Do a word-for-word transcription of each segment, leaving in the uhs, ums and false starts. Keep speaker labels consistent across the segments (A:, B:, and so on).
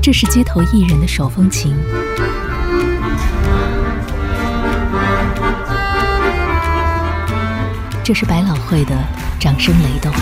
A: 這是街頭藝人的手風琴，這是百老匯的掌聲雷動，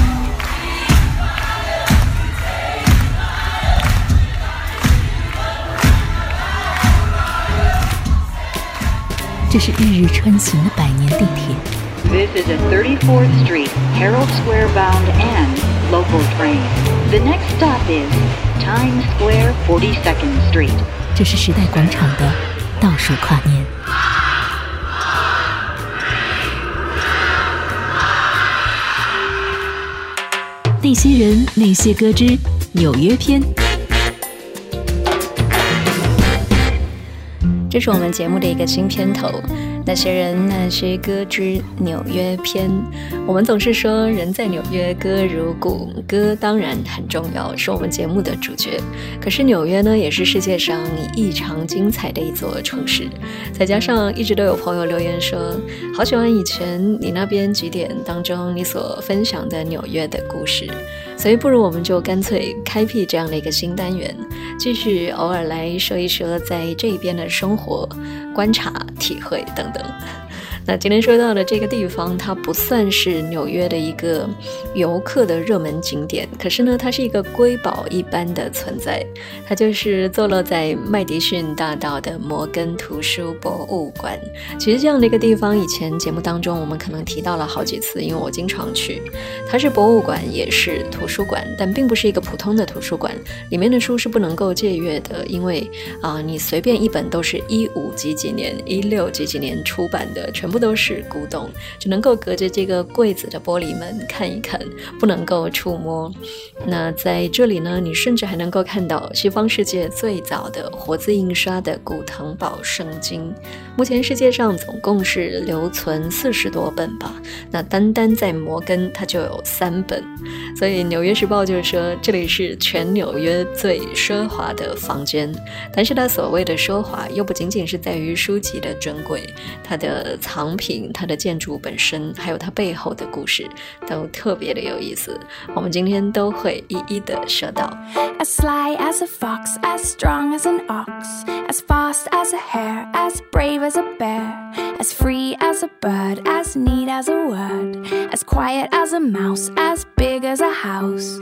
A: 這是日日穿行的百年地鐵。
B: This is a thirty-fourth Street, Herald Square bound and local train. The next stop is Times Square, forty-second Street.
A: 這是時代廣場的倒數跨年。那些人，那些歌之紐約篇。
C: 這是我們節目的一個新片頭，那些人那些歌之紐約篇。我們總是說人在紐約歌如故，歌當然很重要，是我們節目的主角。可是紐約呢，也是世界上異常精彩的一座城市。再加上一直都有朋友留言說，好喜歡以前你那邊幾點當中你所分享的紐約的故事，所以不如我們就乾脆開闢這樣的一個新單元，繼續偶爾來說一說在這邊的生活、觀察、體會等等。那今天說到的這個地方，它不算是紐約的一個遊客的熱門景點，可是呢，它是一個瑰寶一般的存在。它就是坐落在麥迪遜大道的摩根圖書博物館。其實這樣的一個地方，以前節目當中我們可能提到了好幾次，因為我經常去。它是博物館，也是圖書館，但並不是一個普通的圖書館，裡面的書是不能夠借閱的，因為啊、呃，你隨便一本都是一五幾幾年、一六幾幾年出版的，全部都是古董，只能夠隔着這個櫃子的玻璃門看一看，不能夠觸摸。那在這裡呢，你甚至還能夠看到西方世界最早的活字印刷的古騰寶聖經。目前世界上總共是留存四十多本吧，那單單在摩根它就有三本。所以紐約時報就說這裡是全紐約最奢華的房間，但是它所謂的奢華又不僅僅是在於書籍的珍貴，它的藏品、它的建築本身，還有它背後的故事，都特別的有意思。我們今天都會一一的說到。
D: As sly as a fox, as strong as an ox, as fast as a hare, as brave as a bear, as free as a bird, as neat as a word, as quiet as a mouse, as big as a house.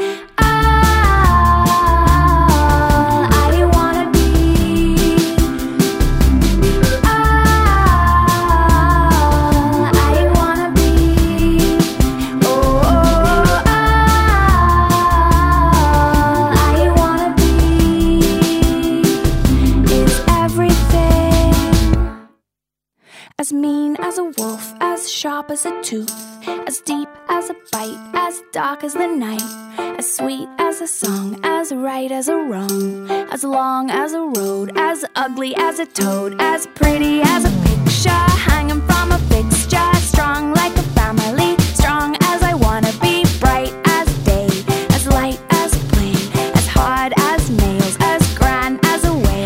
D: As mean as a wolf, as sharp as a tooth, as deep as a bite, as dark as the night, as sweet as a song, as right as a wrong, as long as a road, as ugly as a toad, as pretty as a picture hanging from a fixture, strong like a family, strong as I wanna be, bright as day, as light as a plane, as hard as nails, as grand as a whale.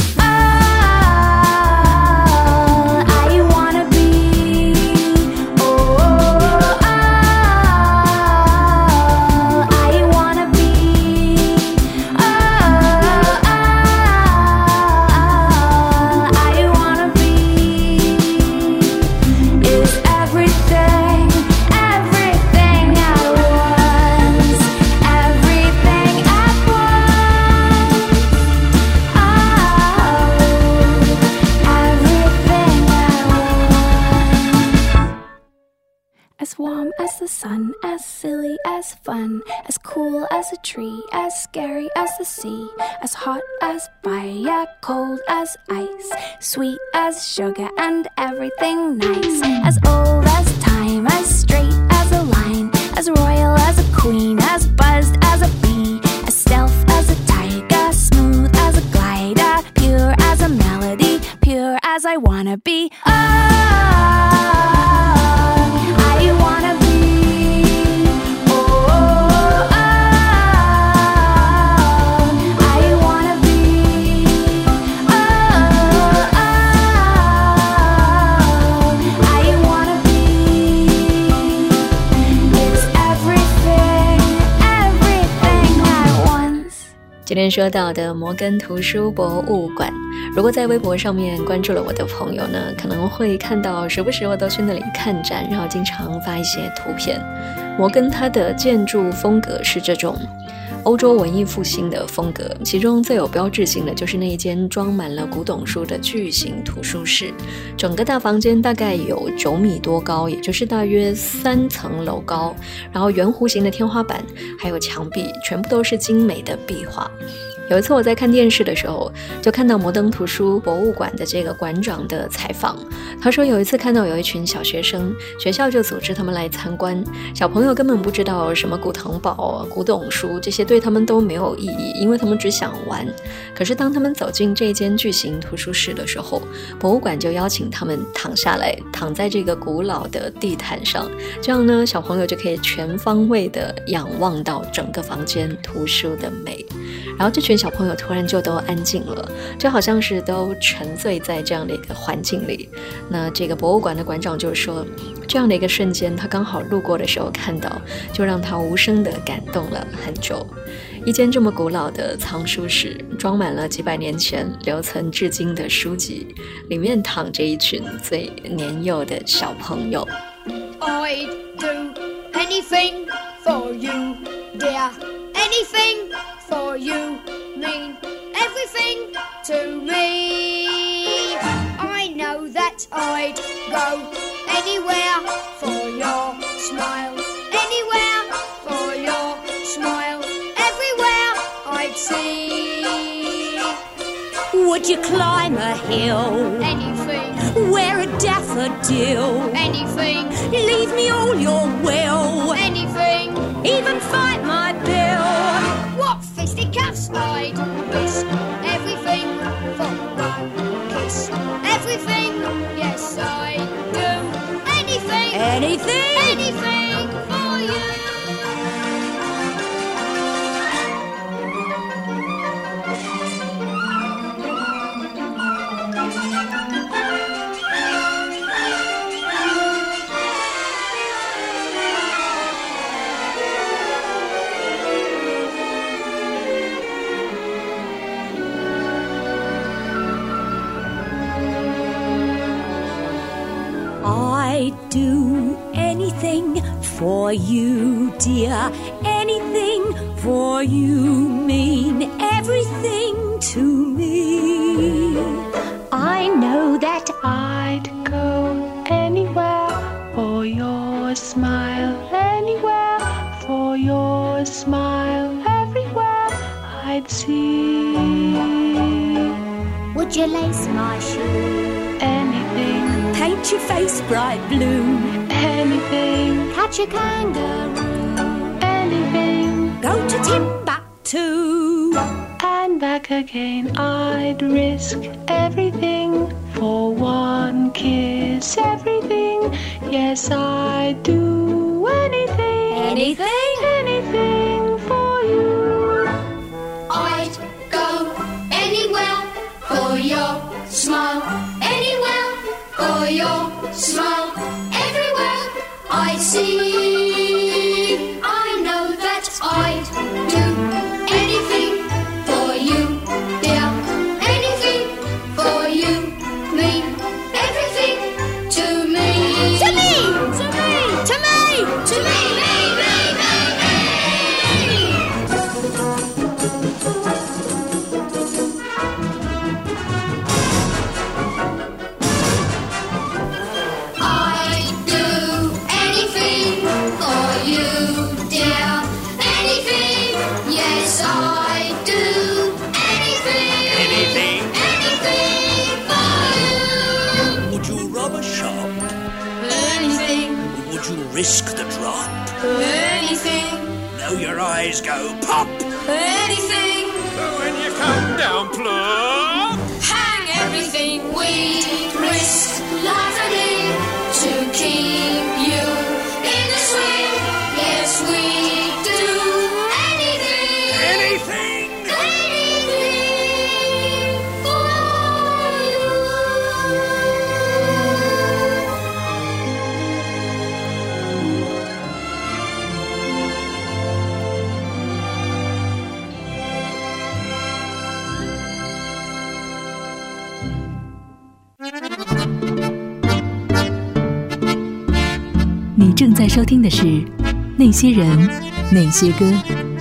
D: As warm as the sun, as silly as fun, as cool as a tree, as scary as the sea, as hot as fire, cold as ice, sweet as sugar and everything nice, as old as time, as straight as a line, as royal as a queen, as buzzed as a bee, as stealth as a tiger, smooth as a glider, pure as a melody, pure as I wanna be. Oh, I wanna be, oh, oh, oh, I wanna be, oh, oh, I wanna be, it's everything
C: 今天說到的摩根圖書博物館，如果在微博上面關注了我的朋友呢，可能會看到時不時我都去那裡看展，然後經常發一些圖片。摩根它的建築風格是這種歐洲文藝復興的風格，其中最有標誌性的就是那一間裝滿了古董書的巨型圖書室。整個大房間大概有九米多高，也就是大約三層樓高，然後圓弧形的天花板還有牆壁全部都是精美的壁畫。有一次我在看電視的時候，就看到摩登圖書博物館的這個館長的採訪。他說有一次看到有一群小學生，學校就組織他們來參觀。小朋友根本不知道什麼古騰堡、古董書，這些對他們都沒有意義，因為他們只想玩。可是當他們走進這間巨型圖書室的時候，博物館就邀請他們躺下來，躺在這個古老的地毯上，這樣呢，小朋友就可以全方位的仰望到整個房間圖書的美。然後這群小朋友突然就都安靜了，就好像是都沉醉在這樣的一個環境裡。那這個博物館的館長就說，這樣的一個瞬間他剛好路過的時候看到，就讓他無聲的感動了很久。一間這麼古老的藏書室，裝滿了幾百年前留存至今的書籍，裡面躺着一群最年幼的小朋友。
E: I'd do anything for you, dear. Anything for you mean everything to me. I know that I'd go anywhere for your smile. Anywhere for your smile. Everywhere I'd see.
F: Would you climb a hill?
E: Anything.
F: Wear a daffodil?
E: Anything.
F: Leave me all your will?
E: Anything.
F: Even fight my bill?
E: What fisticuffs I'd risk. Everything for one kiss. Everything, yes I'd do. Anything.
F: Anything?
E: Anything for you.
F: I'd do anything for you, dear. Anything for you mean everything to me.
D: I know that I'd go anywhere for your smile. Anywhere for your smile. Everywhere I'd see.
F: Would you lace my shoe?
D: Anything.
F: Paint your face bright blue?
D: Anything.
F: Catch a kangaroo?
D: Anything.
F: Go to Timbuktu?
D: And back again. I'd risk everything for one kiss. Everything, yes I'd do anything.
F: Anything?
D: Anything for you.
E: I'd go anywhere for your smile. Anywhere for your smile. Everywhere I see. I know that I'd do anything for you, dear. Anything for you mean everything to me. To me! To me! To me! To me! Me! Me! I'd do anything for you, dear. Anything, yes I'd do anything.
G: Anything?
E: Anything for you.
G: Would you rob a shop?
E: Anything,
G: Would you risk the drop?
E: anything,
G: Now your eyes go pop.
E: anything.
G: When you come down plump.
E: Hang everything we risk lively to keep you in the swing. Yes, we do anything.
G: Anything?
E: Anything for you.
A: 你正在收聽的是《那些人，那些歌》。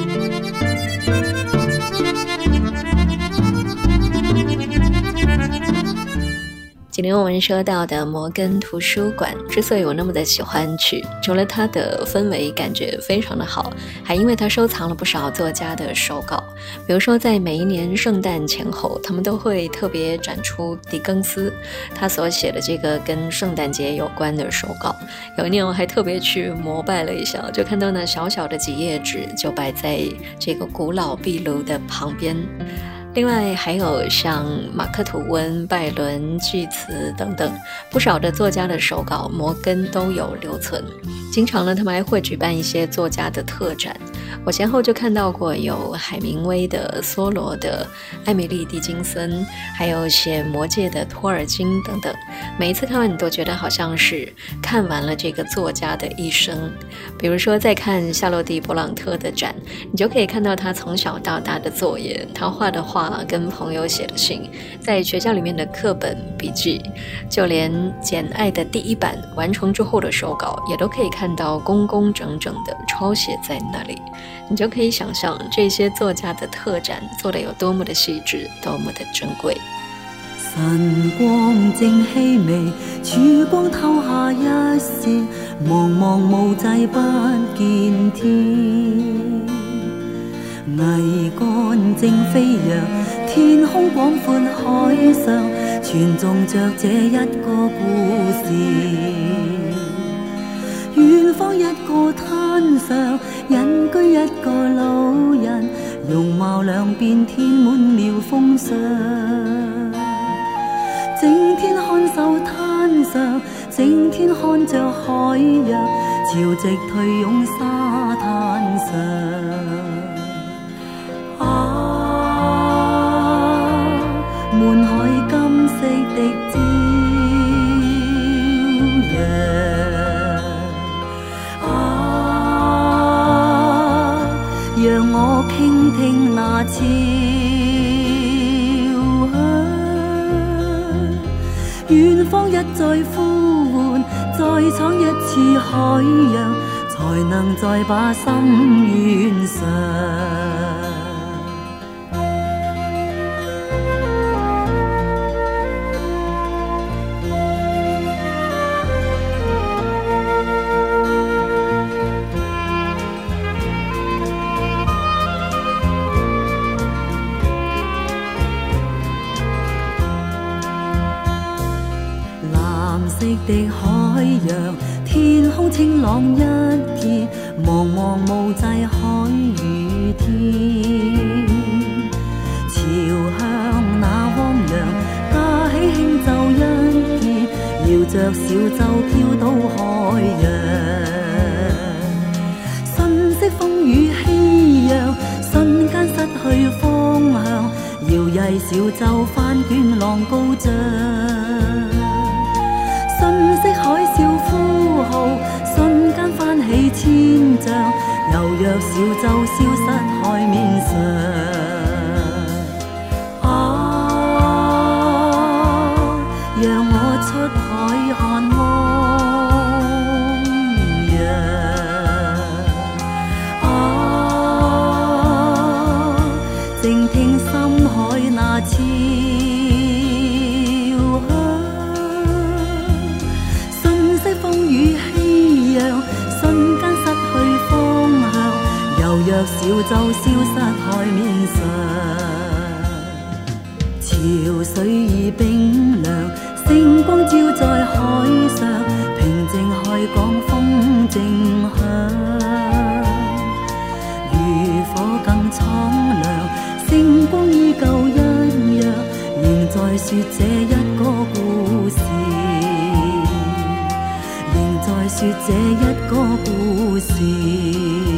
C: 今天我們說到的摩根圖書館之所以我那麼的喜歡去，除了它的氛圍感覺非常的好，還因為它收藏了不少作家的手稿。比如說在每一年聖誕前後，他們都會特別展出狄更斯他所寫的這個跟聖誕節有關的手稿。有一年我還特別去膜拜了一下，就看到那小小的幾頁紙就擺在這個古老壁爐的旁邊。另外還有像馬克吐溫、拜倫、巨茨等等不少的作家的手稿，摩根都有留存。經常呢，他們還會舉辦一些作家的特展。我先後就看到過有海明威的、梭羅的、艾米麗·狄金森，還有寫《魔戒》的托爾金等等。每一次看完，你都覺得好像是看完了這個作家的一生。比如說，在看夏洛蒂·勃朗特的展，你就可以看到他從小到大的作業，他畫的畫。跟朋友寫的信，在學校裡面的課本筆記，就連《簡愛》的第一版完成之後的手稿，也都可以看到工工整整的抄寫在那裡。你就可以想象這些作家的特展做得有多麼的細緻，多麼的珍貴。
H: 晨光正氣微，曙光透下一線，茫茫無際不見天。桅杆正飛揚，天空廣闊海上，傳頌着這一個故事。遠方一個灘上，隱居一個老人，容貌兩邊填滿了風霜。整天看守灘上，整天看着海洋，潮汐退湧沙灘上。滿海金色的朝陽啊，讓我傾聽那潮響。遠方一再呼喚，再闖一次海洋，才能再把心圓上。的海洋，天空清朗一片，茫茫無際海與天。潮向那汪洋，架起輕奏一片，搖着小舟飄到海洋。瞬息風雨熙攘，瞬間失去方向，搖曳小舟翻捲浪高漲。瞬息海嘯呼號，瞬間翻起千丈，猶若小舟消失海面上。啊，讓我出海看汪洋。啊，靜聽深海那潮若小舟消失海面上，潮水已冰涼，星光照在海上，平靜海港風正響，漁火更蒼涼，星光依舊一樣，仍在說這一個故事，仍在說這一個故事。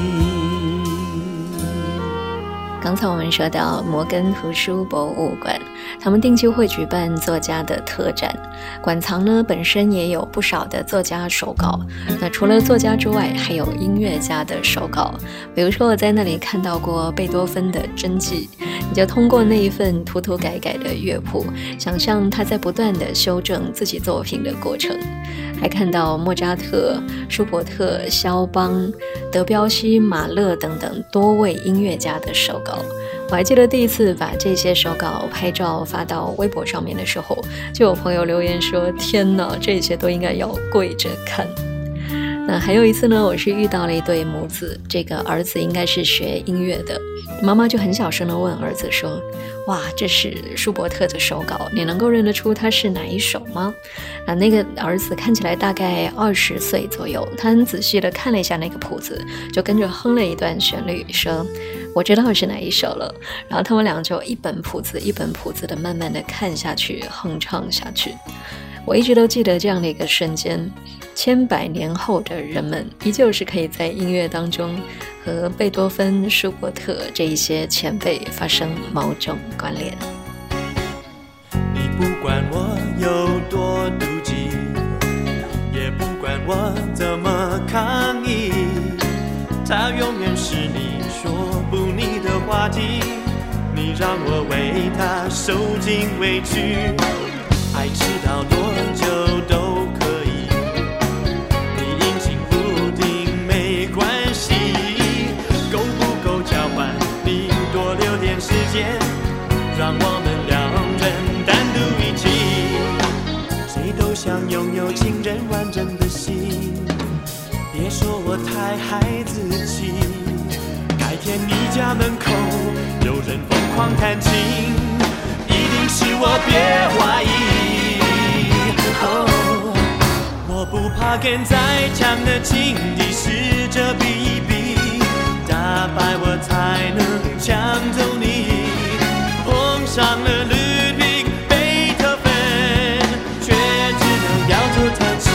C: 剛才我們說到摩根圖書博物館，他們定期會舉辦作家的特展，館藏呢本身也有不少的作家手稿。那除了作家之外，還有音樂家的手稿。比如說我在那裡看到過貝多芬的真跡， 你就通過那一份塗塗改改的樂譜，想象他在不斷地修正自己作品的過程，還看到莫扎特、舒伯特、肖邦、德彪西、馬勒等等多位音樂家的手稿。我還記得第一次把這些手稿拍照發到微博上面的時候，就有朋友留言說：天哪，這些都應該要跪着看。那還有一次呢，我是遇到了一對母子，這個兒子應該是學音樂的，媽媽就很小聲地問兒子說：哇，這是舒伯特的手稿，你能夠認得出他是哪一首嗎？啊，那個兒子看起來大概二十歲左右，他很仔細地看了一下那個譜子，就跟着哼了一段旋律，說：我知道是哪一首了。然後他們倆就一本譜子一本譜子的慢慢地看下去，哼唱下去。我一直都記得這樣的一個瞬間，千百年後的人們依舊是可以在音樂當中和貝多芬、舒伯特這一些前輩發生某種關聯。
I: 你不管我有多妒忌，也不管我怎麼抗議，它永遠是你說不膩的話題，你讓我為它受盡委屈，愛遲到多久都可以，你陰晴不定沒關係，夠不夠交換你多留點時間，讓我們兩人單獨一起，誰都想擁有情人完整的心，別說我太孩子氣，改天你家門口有人瘋狂彈琴，一定是我，別懷疑。哦，我不怕跟再強的情敵試着比一比，打敗我才能搶走你。碰上了ludwig貝多芬，卻只能搖頭嘆氣。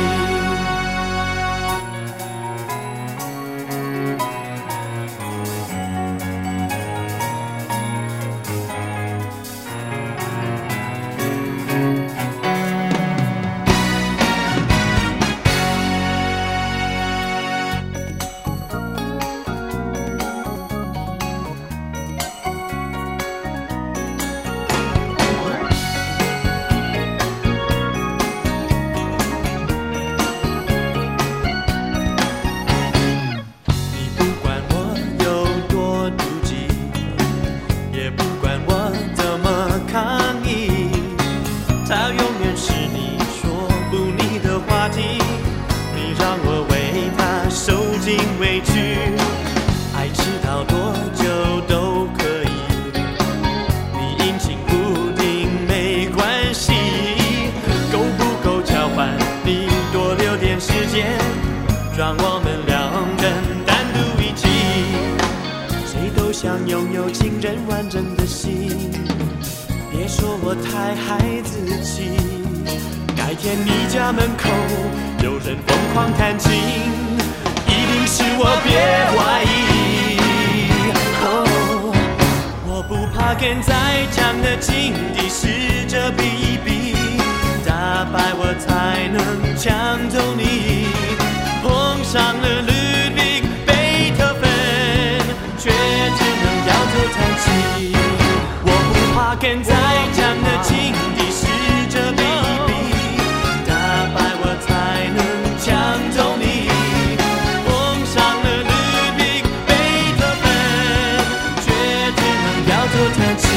I: 讓我們兩人單獨一起，誰都想擁有情人完整的心，別說我太孩子氣，改天你家門口有人瘋狂彈琴，一定是我，別懷疑。哦，我不怕跟再強的情敵試着比一比，打敗我才能搶走你。碰上了ludwig貝多芬，卻只能搖頭嘆氣。我不怕跟再強的情敵試着比一比，打敗我才能搶走你。碰上了ludwig貝多芬，卻只能搖頭嘆氣。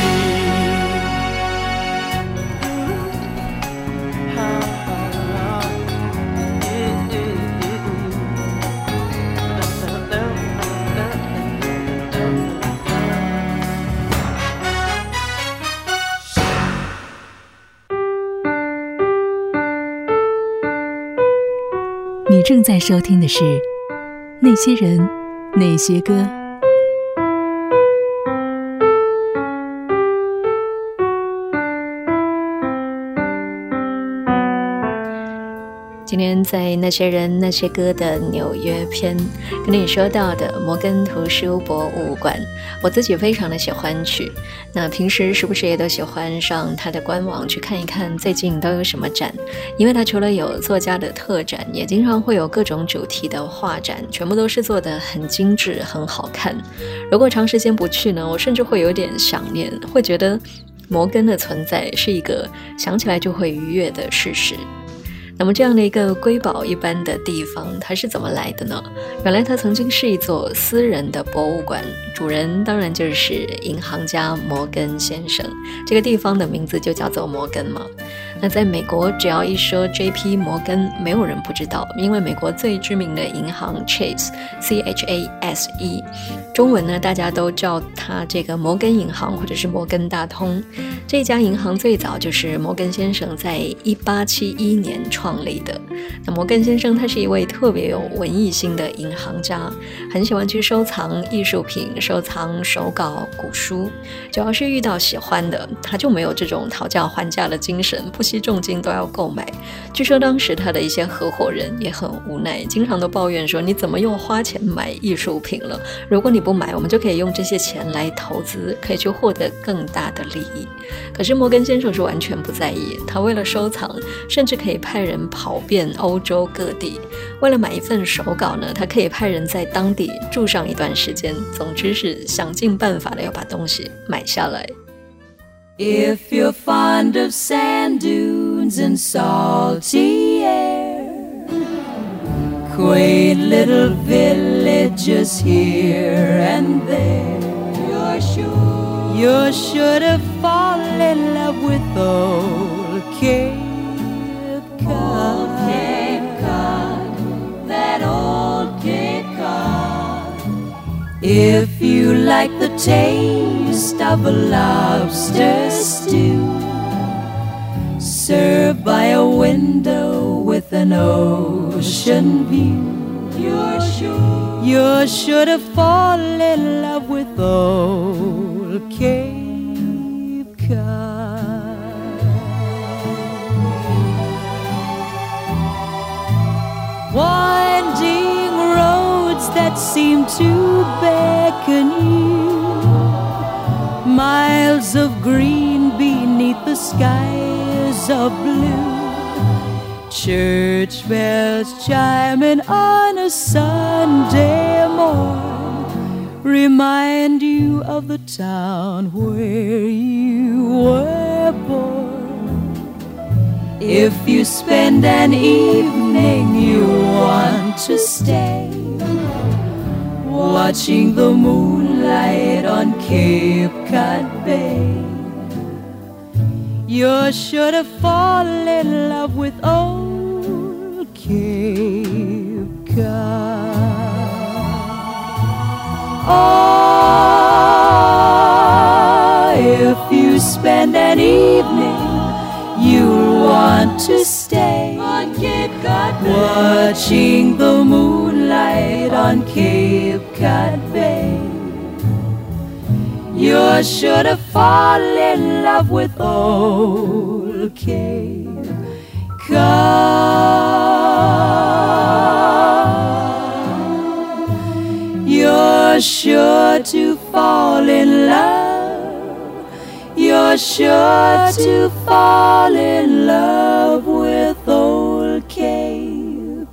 A: 你正在收聽的是《那些人，那些歌》。
C: 今今天在那些人那些歌的紐約篇跟你說到的摩根圖書博物館，我自己非常的喜歡去，那平時時不時也都喜歡上他的官網去看一看最近都有什麼展，因為他除了有作家的特展，也經常會有各種主題的畫展，全部都是做得很精緻很好看。如果長時間不去呢，我甚至會有點想念，會覺得摩根的存在是一個想起來就會愉悅的事實。那麼這樣的一個瑰寶一般的地方，它是怎麼來的呢？原來它曾經是一座私人的博物館，主人當然就是銀行家摩根先生，這個地方的名字就叫做摩根嘛。那在美國，只要一說 J P 摩根，沒有人不知道，因為美國最知名的銀行 Chase C H A S E， 中文呢大家都叫它這個摩根銀行或者是摩根大通。這家銀行最早就是摩根先生在一八七一年創立的。那摩根先生他是一位特別有文藝心的銀行家，很喜歡去收藏藝術品，收藏手稿、古書，只要是遇到喜歡的，他就沒有這種討價還價的精神，不惜重金都要購買。據說當時他的一些合夥人也很無奈，經常都抱怨說，你怎麼又花錢買藝術品了？如果你不買，我們就可以用這些錢來投資，可以去獲得更大的利益。可是摩根先生是完全不在意，他為了收藏，甚至可以派人跑遍歐洲各地。為了買一份手稿呢，他可以派人在當地住上一段時間，總之是想盡辦法的要把東西買下來。
H: If you're fond of sand dunes and salty air, quaint little villages here and there, you're sure, you're sure to fall in love with old Cape Cod. Old Cape Cod, that old Cape Cod. If you like the taste of a lobster stew, served by a window with an ocean view, you're sure, you're sure to fall in love with old Cape Cod. Winding roads that seem to beckon you, miles of green beneath the skies of blue, church bells chiming on a Sunday morn remind you of the town where you were born. If you spend an evening you want to stay, watching the moonlight on Cape Cod Bay, you're sure to fall in love with old Cape Cod. Oh, if you spend an evening you'll want to stay on Cape Cod Bay, watching the moonlight on Cape Cod Bay, you're sure to fall in love with old Cape Cod. You're sure to fall in love, you're sure to fall in love with old Cape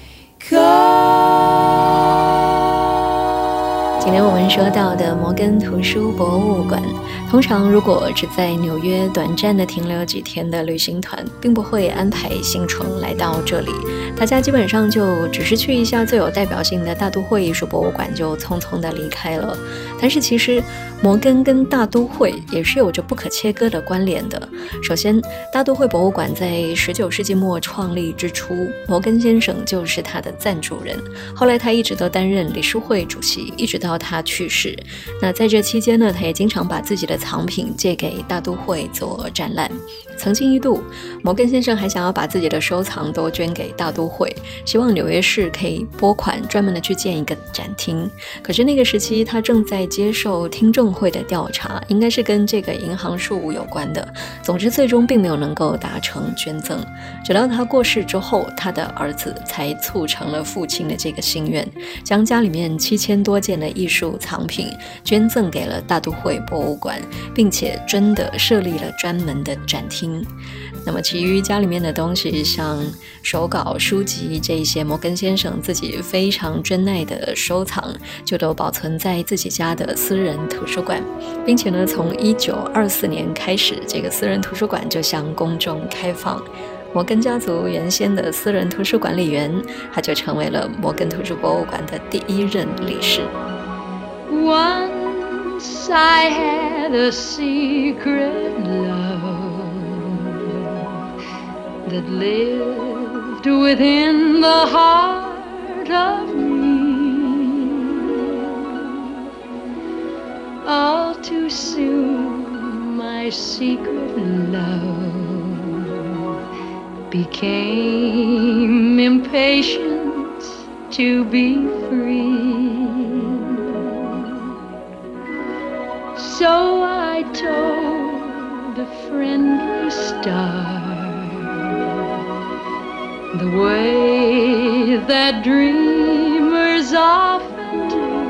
H: Cod.
C: 今天我們說到的摩根圖書博物館，通常如果只在紐約短暫的停留幾天的旅行團，並不會安排行程來到這裡，大家基本上就只是去一下最有代表性的大都會藝術博物館就匆匆的離開了。但是其實摩根跟大都會也是有着不可切割的關聯的。首先，大都會博物館在十九世紀末創立之初，摩根先生就是他的贊助人，後來他一直都擔任理事會主席，一直到他去世。那在這期間呢，他也經常把自己的藏品借給大都會做展覽。 曾經一度，摩根先生還想要把自己的收藏都捐給大都會，希望紐約市可以撥款專門的去建一個展廳。可是那個時期，他正在接受聽證會的調查，應該是跟這個銀行事務有關的。總之，最終並沒有能夠達成捐贈。直到他過世之後，他的兒子才促成了父親的這個心願，將家裡面七千多件的藝術藏品捐贈給了大都會博物館，並且真的設立了專門的展廳。那麼其餘家裡面的東西，像手稿、書籍這一些摩根先生自己非常珍愛的收藏，就都保存在自己家的私人圖書館，並且呢，從一九二四年開始，這個私人圖書館就向公眾開放。摩根家族原先的私人圖書管理員，他就成為了摩根圖書博物館的第一任理事。
J: Once I had a secret love that lived within the heart of me. All too soon my secret love became impatient to be free. So I told a friendly star the way that dreamers often do,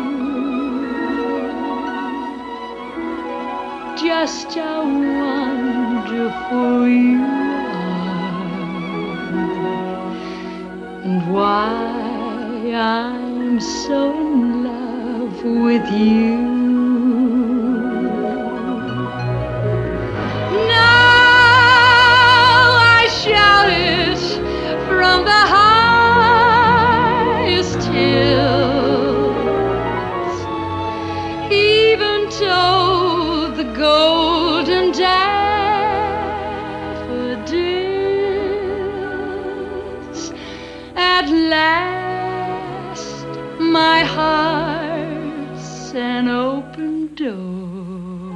J: just how wonderful you and why I'm so in love with you. Now I shout it from the highest hills, even though the golden daffodils. At last, my heart's an open door,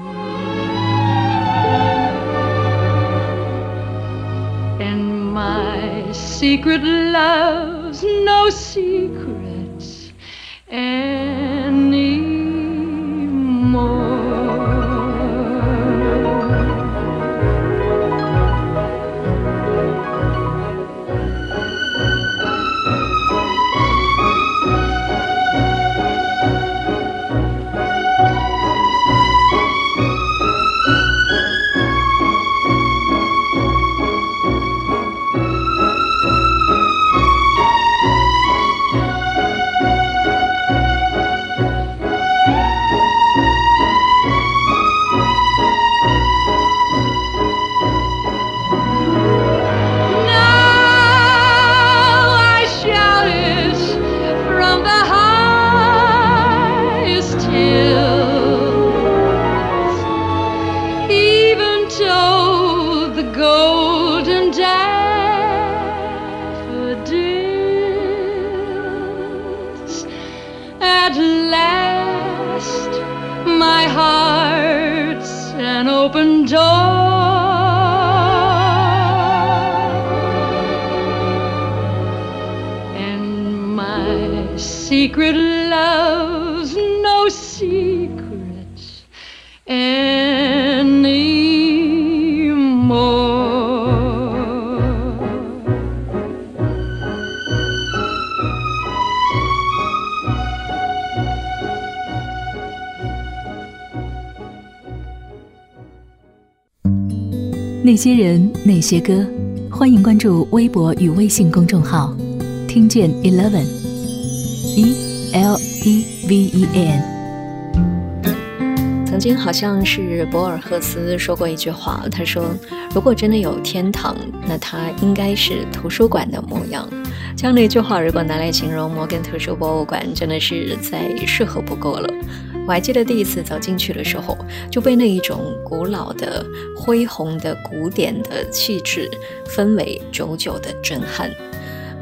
J: and my secret love's no secrets anymore. At last, my heart's an open door, and my secret love's no secrets anymore.
A: 《那些人，那些歌》，歡迎關注微博與微信公眾號，聽見 Eleven E L E V E A N。
C: 曾經好像是博爾赫斯說過一句話，他說：“如果真的有天堂，那它應該是圖書館的模樣。”這樣的一句話，如果拿來形容摩根圖書博物館，真的是再適合不過了。我還記得第一次走進去的時候，就被那一種古老的、恢宏的、古典的氣質氛圍久久的震撼。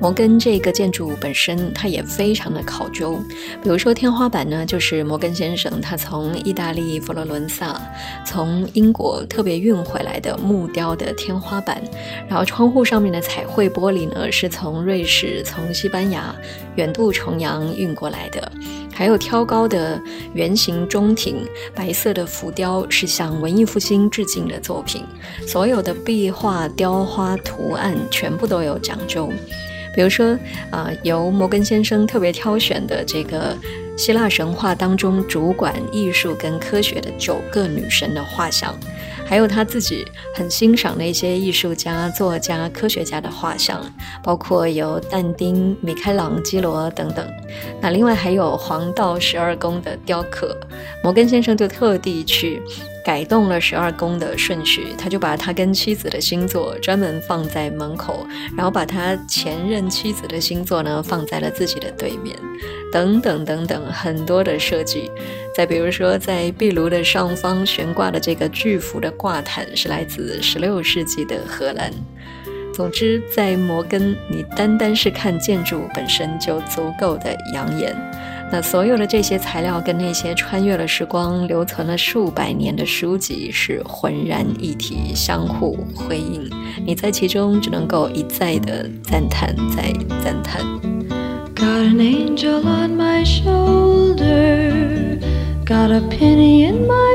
C: 摩根這個建築本身它也非常的考究，比如說天花板呢，就是摩根先生他從意大利佛羅倫薩從英國特別運回來的木雕的天花板，然後窗戶上面的彩繪玻璃呢是從瑞士從西班牙遠渡重洋運過來的，還有挑高的圓形中庭，白色的浮雕是向文藝復興致敬的作品，所有的壁畫雕花圖案全部都有講究。比如說，呃，由摩根先生特別挑選的這個希臘神話當中主管藝術跟科學的九個女神的畫像，還有他自己很欣賞的一些藝術家、作家、科學家的畫像，包括有但丁、米開朗基羅等等。那另外還有黃道十二宮的雕刻，摩根先生就特地去改動了十二宮的順序，他就把他跟妻子的星座專門放在門口，然後把他前任妻子的星座呢放在了自己的对面，等等等等，很多的設計。再比如說，在壁爐的上方懸掛的這個巨幅的掛毯是來自十六世紀的荷蘭。總之，在摩根，你單單是看建築本身就足夠的養眼。那所有的這些材料跟那些穿越了時光、留存了數百年的書籍是渾然一體，相互輝映。你在其中只能夠一再的讚嘆，再讚嘆。
J: Got an angel on my shoulder, got a penny in my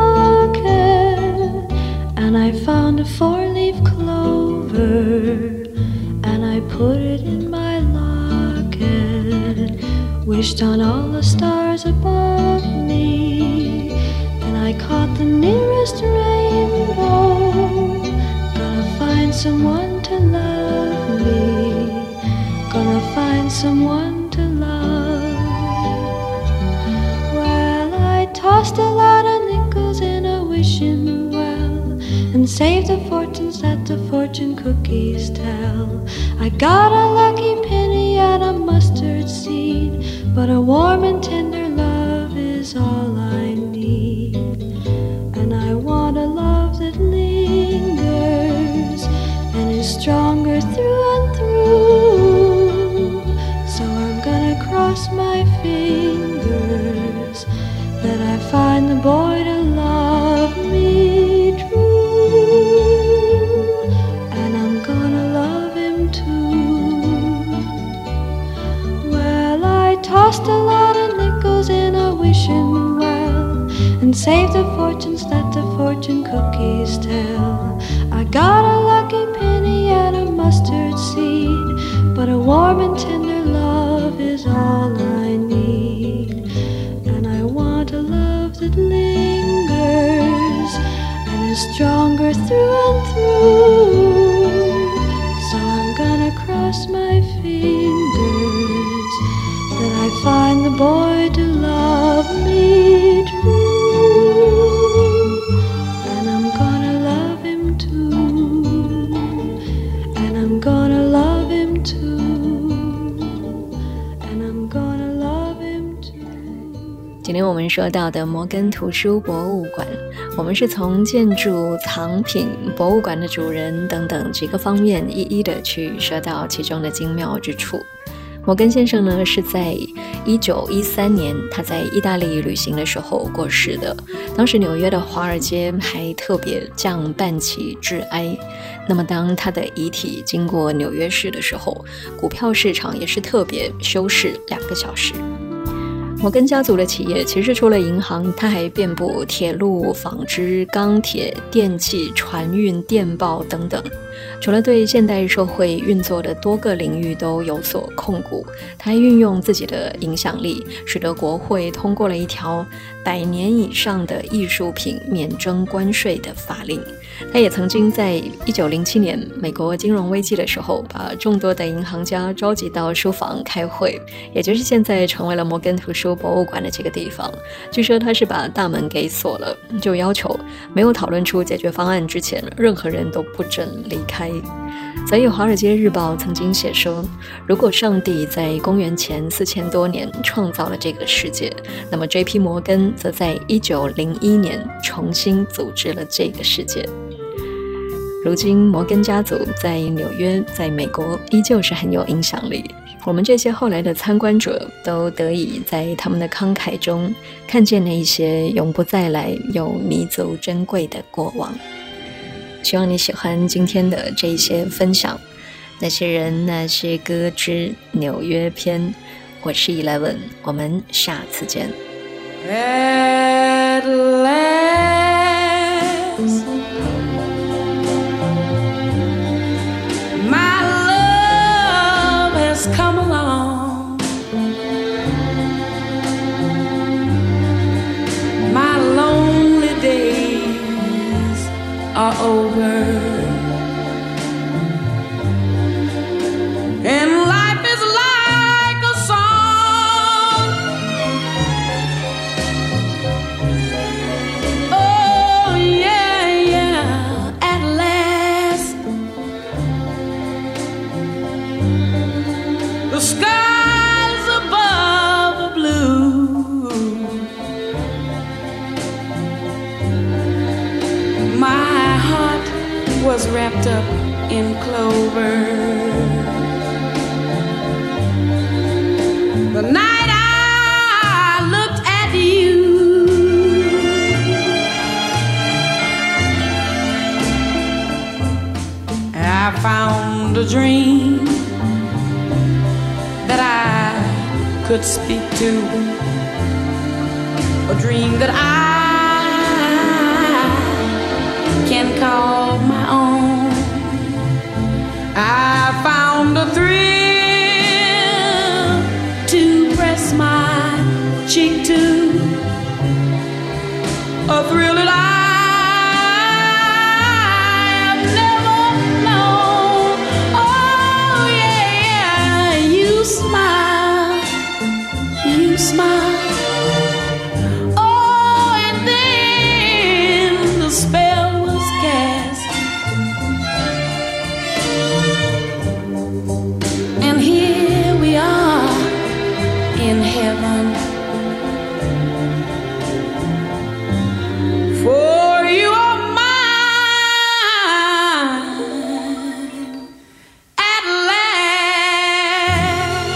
J: pocket, and I found a four-leaf clover, and I put it in my locket, wished on all the stars above me, and I caught the nearest rainbow, gonna find someone to love me, gonna find someone to love. Well, I tossed a lot of nickels in a wishing well and saved the fortunes that the fortune cookies tell. I got a lucky penny and a mustard seed, but a warm and tender love is all I need. And I want a love that lingers and is stronger through and through. So I'm gonna cross my fingers that I find the boy to love me true. And I'm gonna love him too. Well, I tossed a lot of nickels in a wishing well and saved the fortunes that the fortune cookies tell. I got a lucky penny and a mustard seed, but a warm and tender love is all I need. And I want a love that lingers and is stronger through and through. So I'm gonna cross my fingers that I find the boy to love me true. And I'm gonna love him too. And I'm gonna love him too.And I'm gonna love him too.
C: 今天我們說到的摩根圖書博物館，我們是從建築、藏品、博物館的主人等等幾個方面一一的去說到其中的精妙之處。摩根先生呢是在一九一三年他在意大利旅行的時候過世的，當時紐約的華爾街還特別降半旗致哀。那麼當他的遺體經過紐約市的時候，股票市場也是特別休市兩個小時。摩根家族的企業其實除了銀行，它還遍布鐵路、紡織、鋼鐵、電氣、船運、電報等等。除了對現代社會運作的多個領域都有所控股，他還運用自己的影響力，使得國會通過了一條百年以上的藝術品免徵關稅的法令。他也曾經在一九零七年美國金融危機的時候，把眾多的銀行家召集到書房開會，也就是現在成為了摩根圖書博物館的這個地方。據說他是把大門給鎖了，就要求沒有討論出解決方案之前，任何人都不准離開。所以《華爾街日報》曾經寫說，如果上帝在公元前四千多年創造了這個世界，那麼 J P 摩根則在一九零一年重新組織了這個世界。 如今摩根家族在紐約，在美國依舊是很有影響力。我們這些後來的參觀者都得以在他們的慷慨中看見那一些永不再來又彌足珍貴的過往。希望你喜歡今天的這一些分享，那些人那些歌之紐約篇。我是 Eleven， 我們下次見。
J: At last, my love has come along. My lonely days are over, and life is like a song. Oh yeah, yeah, at last the skies above are blue. My heart was wrapped up in clover the night I looked at you. I found a dream that I could speak to, a dream that I can call my own. I found a thrill to press my cheek to, a thrill that I have never known. Oh yeah, you smile, you smile. Oh, and then the spell was cast, and here we are in heaven. For you are mine at last.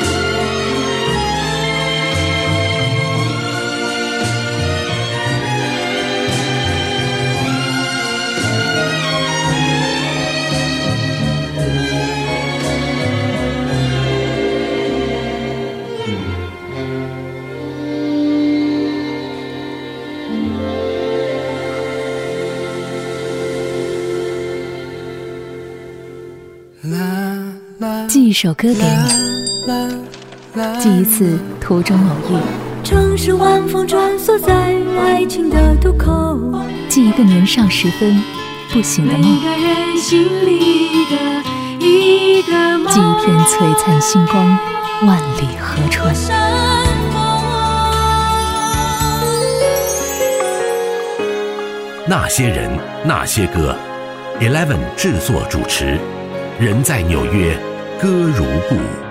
A: La 寄一首歌給你，寄一次途中偶遇，
H: 城市晚風穿梭在愛情的渡口，
A: 寄一個年少時分不醒的夢，
H: 每個人心裡的一個夢，
A: 寄一片璀璨星光，萬里河川。
K: 那些人，那些歌 ，Eleven 製作主持，人在紐約，歌如故。